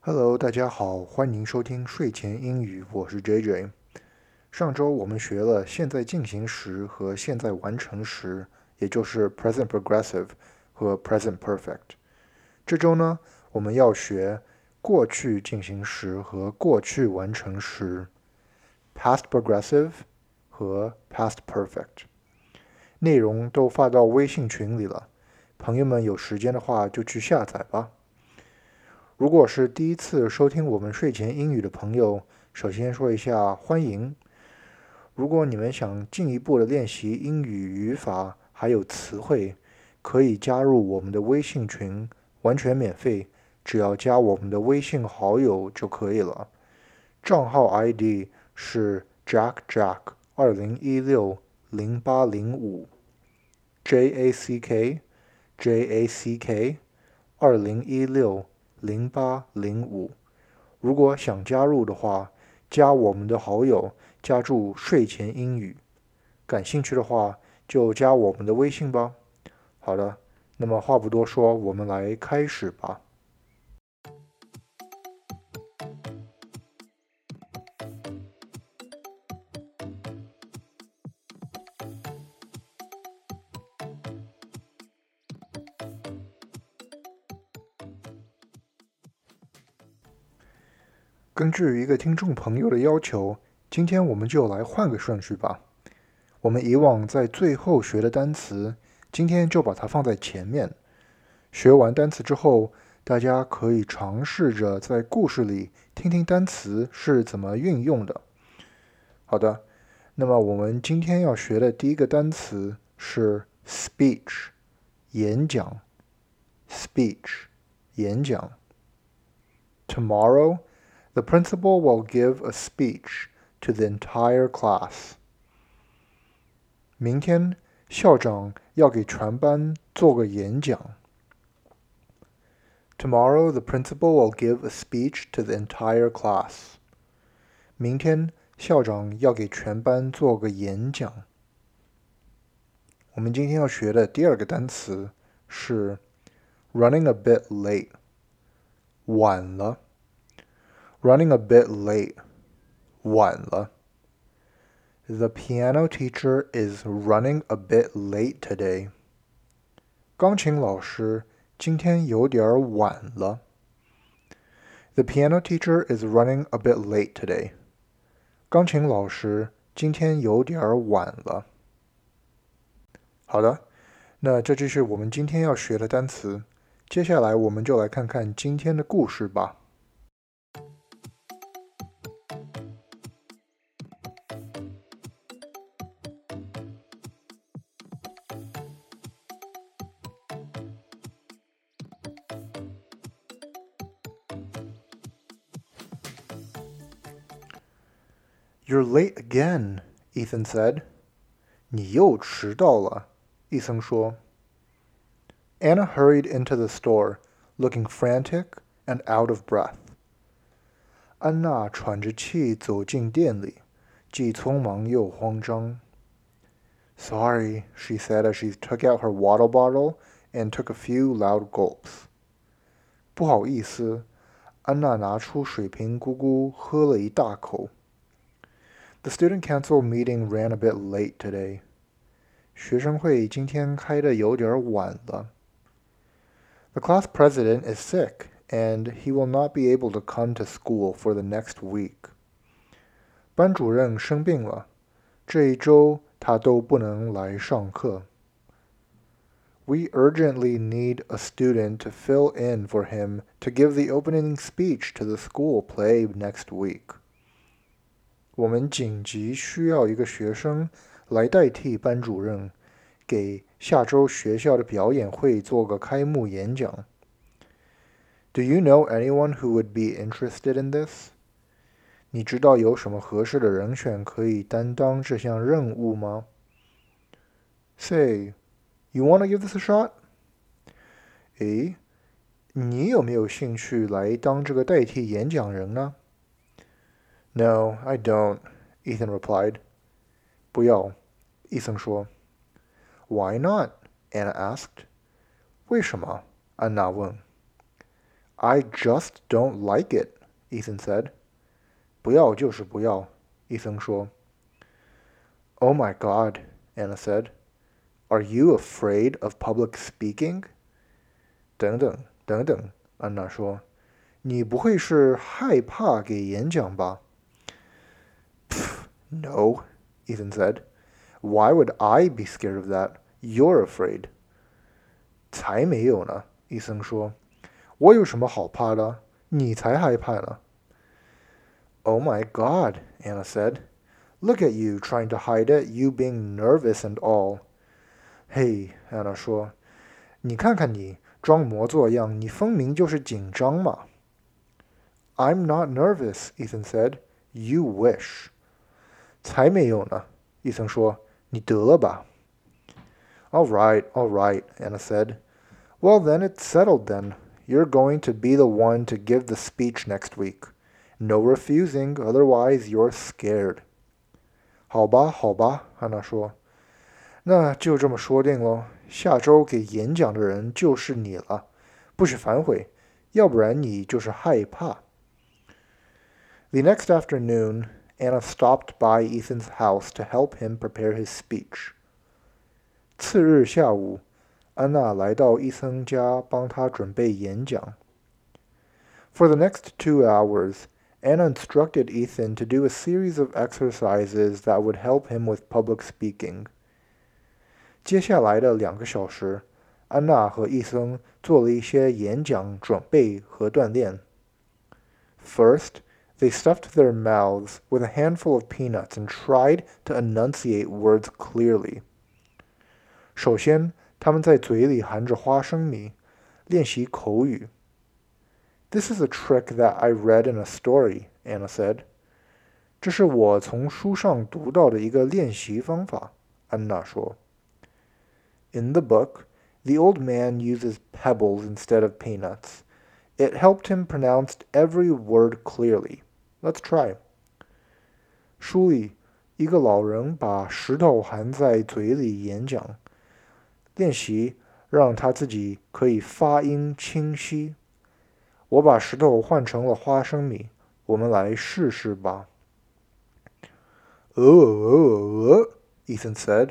Hello，大家好，欢迎收听睡前英语，我是 JJ。上周我们学了现在进行时和现在完成时，也就是 present progressive 和 present perfect。这周呢，我们要学过去进行时和过去完成时 past progressive 和 past perfect。内容都发到微信群里了，朋友们有时间的话就去下载吧。如果是第一次收听我们睡前英语的朋友，首先说一下欢迎。如果你们想进一步的练习英语语法还有词汇，可以加入我们的微信群，完全免费，只要加我们的微信好友就可以了。账号 ID 是 jackjack20160805 jack20160805。如果想加入的话，加我们的好友，加注睡前英语。感兴趣的话，就加我们的微信吧。好的，那么话不多说，我们来开始吧。根据一个听众朋友的要求，今天我们就来换个顺序吧。我们以往在最后学的单词，今天就把它放在前面。学完单词之后，大家可以尝试着在故事里听听单词是怎么运用的。好的，那么我们今天要学的第一个单词是 speech， 演讲。speech， 演讲。Tomorrow, the principal will give a speech to the entire class. 明天，校长要给全班做个演讲。Tomorrow, the principal will give a speech to the entire class. 明天，校长要给全班做个演讲。我们今天要学的第二个单词是 running a bit late， 晚了。running a bit late， 晚了。The piano teacher is running a bit late today. 钢琴老师今天有点晚了。The piano teacher is running a bit late today. 钢琴老师今天有点晚了。好的，那这就是我们今天要学的单词。接下来我们就来看看今天的故事吧。You're late again, Ethan said. 你又迟到了，伊森说。Anna hurried into the store, looking frantic and out of breath. 安娜喘着气走进店里，既匆忙又慌张。Sorry, she said as she took out her water bottle and took a few loud gulps. 不好意思，安娜拿出水瓶咕咕喝了一大口。The student council meeting ran a bit late today. 学生会今天开得有点晚了。The class president is sick, and he will not be able to come to school for the next week. 班主任生病了，这一周他都不能来上课。We urgently need a student to fill in for him to give the opening speech to the school play next week. 我们紧急需要一个学生来代替班主任，给下周学校的表演会做个开幕演讲。Do you know anyone who would be interested in this? 你知道有什么合适的人选可以担当这项任务吗？ Say, you want to give this a shot? 诶，你有没有兴趣来当这个代替演讲人呢？ No, I don't, Ethan replied. 不要，伊森说。Why not? Anna asked. 为什么？安娜问。 I just don't like it, Ethan said. 不要就是不要，伊森说。Oh my God, Anna said. Are you afraid of public speaking? 等等等等，安娜说。你不会是害怕给演讲吧？ No, Ethan said. Why would I be scared of that? You're afraid. 才没有呢，伊森说。我有什么好怕的？你才害怕呢。Oh my God, Anna said. Look at you trying to hide it, you being nervous and all. 嘿，安娜说，你看看你，装模作样，你分明就是紧张嘛。I'm not nervous, Ethan said. You wish. 才没有呢，伊森说，你得了吧。All right, Anna said. Well, then it's settled then. You're going to be the one to give the speech next week. No refusing, otherwise you're scared. 好吧，好吧，安娜说。那就这么说定喽。下周给演讲的人就是你了，不许反悔，要不然你就是害怕。The next afternoon, Anna stopped by Ethan's house to help him prepare his speech. 次日下午，安娜来到伊森家帮他准备演讲。For the next 2 hours, Anna instructed Ethan to do a series of exercises that would help him with public speaking. 接下来的2个小时，安娜和伊森做了一些演讲准备和锻炼。First, they stuffed their mouths with a handful of peanuts and tried to enunciate words clearly. 首先，他们在嘴里含着花生米，练习口语。This is a trick that I read in a story, Anna said. 这是我从书上读到的一个练习方法，安娜说。In the book, the old man uses pebbles instead of peanuts. It helped him pronounce every word clearly. Let's try. 书里，一个老人把石头含在嘴里演讲，练习让他自己可以发音清晰。我把石头换成了花生米，我们来试试吧。Ethan said.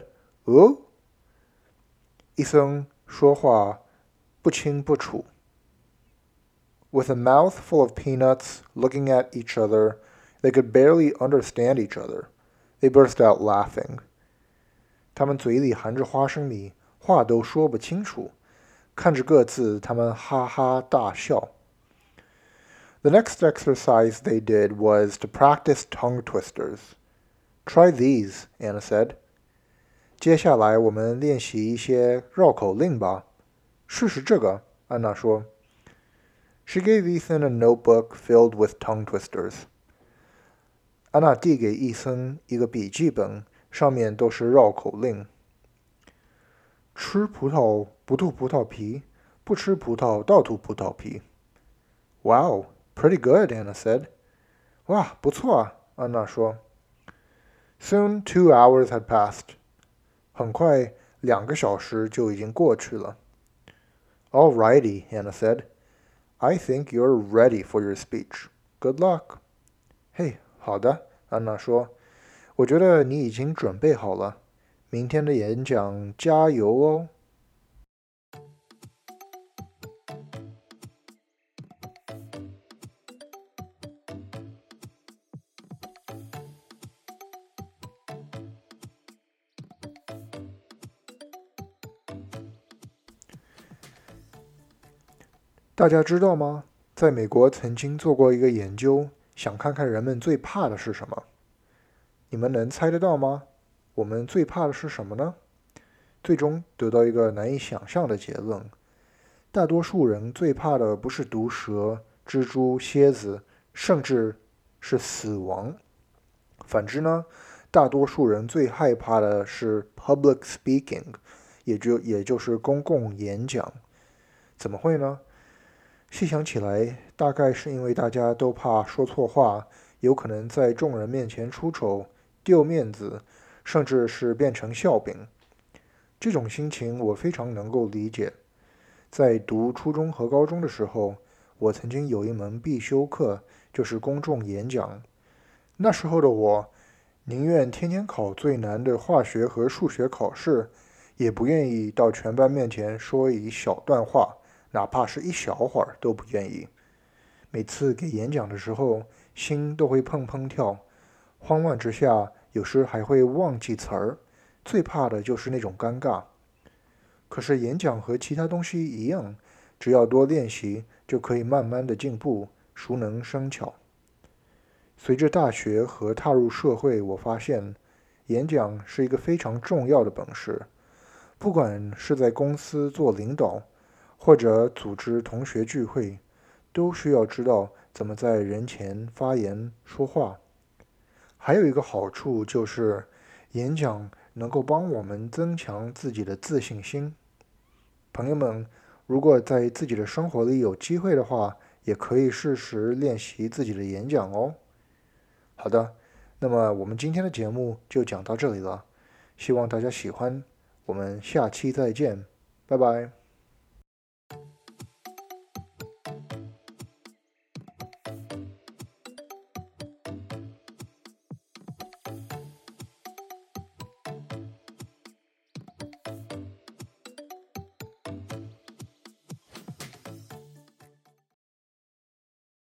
伊森说话不清不楚。With a mouth full of peanuts, looking at each other, they could barely understand each other. They burst out laughing. 他们嘴里含着花生米，话都说不清楚。看着各自，他们哈哈大笑。The next exercise they did was to practice tongue twisters. Try these, Anna said. 接下来我们练习一些绕口令吧。试试这个，安娜说。She gave Ethan a notebook filled with tongue twisters. 安娜递给伊森一个笔记本，上面都是绕口令。吃葡萄不吐葡萄皮，不吃葡萄倒吐葡萄皮。Wow, pretty good, Anna said. 哇，不错啊，安娜说。Soon 2 hours had passed. 很快2个小时就已经过去了。Alrighty, Anna said. I think you're ready for your speech. Good luck. 嘿，好的，安娜说。我觉得你已经准备好了。明天的演讲加油哦。大家知道吗？在美国曾经做过一个研究，想看看人们最怕的是什么。你们能猜得到吗？我们最怕的是什么呢？最终得到一个难以想象的结论。大多数人最怕的不是毒蛇、蜘蛛、蝎子，甚至是死亡。反之呢，大多数人最害怕的是 public speaking， 也就是公共演讲。怎么会呢？细想起来，大概是因为大家都怕说错话，有可能在众人面前出丑、丢面子，甚至是变成笑柄。这种心情我非常能够理解。在读初中和高中的时候， 我曾经有一门必修课就是公众演讲。那时候的我，宁愿天天考最难的化学和数学考试，也不愿意到全班面前说一小段话，哪怕是一小会儿都不愿意。每次给演讲的时候，心都会砰砰跳，慌乱之下，有时还会忘记词儿。最怕的就是那种尴尬。可是演讲和其他东西一样，只要多练习，就可以慢慢的进步，熟能生巧。随着大学和踏入社会，我发现演讲是一个非常重要的本事。不管是在公司做领导，或者组织同学聚会，都需要知道怎么在人前发言说话。还有一个好处就是，演讲能够帮我们增强自己的自信心。朋友们，如果在自己的生活里有机会的话，也可以试试练习自己的演讲哦。好的，那么我们今天的节目就讲到这里了，希望大家喜欢，我们下期再见，拜拜。